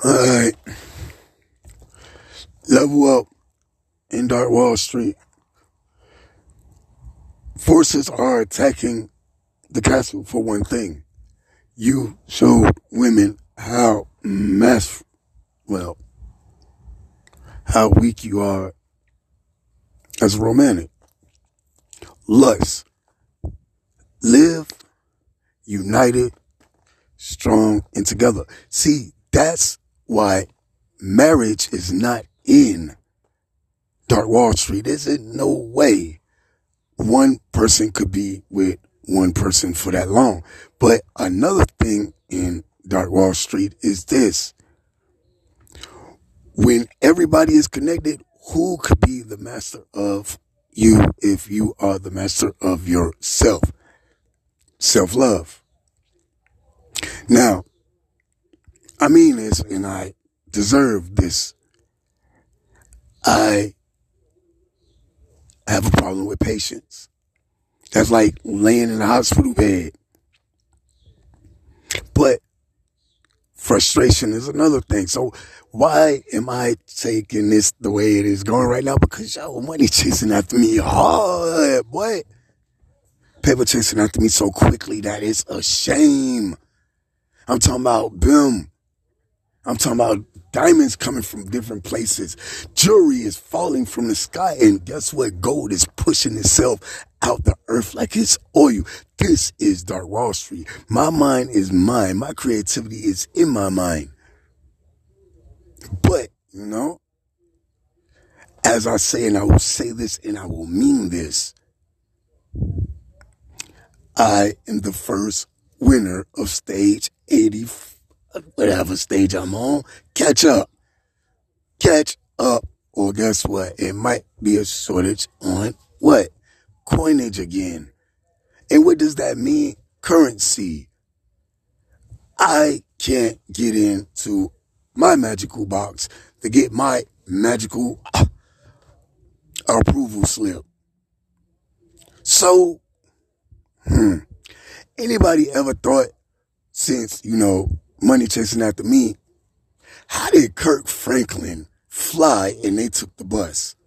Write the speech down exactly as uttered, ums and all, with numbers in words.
Alright, level up in Dark Wall Street. Forces are attacking the castle for one thing. You showed women how mass, well, how weak you are as a romantic. Lust. Live united, strong, and together. See, that's why marriage is not in Dark Wall Street. There's no way one person could be with one person for that long. But another thing in Dark Wall Street is this. When everybody is connected, who could be the master of you if you are the master of yourself? Self-love. Now, I mean this, and I deserve this. I have a problem with patience. That's like laying in a hospital bed. But frustration is another thing. So why am I taking this the way it is going right now? Because y'all money chasing after me hard, boy. Paper chasing after me so quickly that it's a shame. I'm talking about boom. I'm talking about diamonds coming from different places. Jewelry is falling from the sky. And guess what? Gold is pushing itself out the earth like it's oil. This is Dark Wall Street. My mind is mine. My creativity is in my mind. But, you know, as I say, and I will say this and I will mean this, I am the first winner of stage eighty, whatever stage I'm on. Catch up. Catch up. Or guess what? It might be a shortage on what? Coinage again. And what does that mean? Currency. I can't get into my magical box to get my magical uh, approval slip. So, hmm, anybody ever thought, since, you know, money chasing after me, how did Kirk Franklin fly and they took the bus?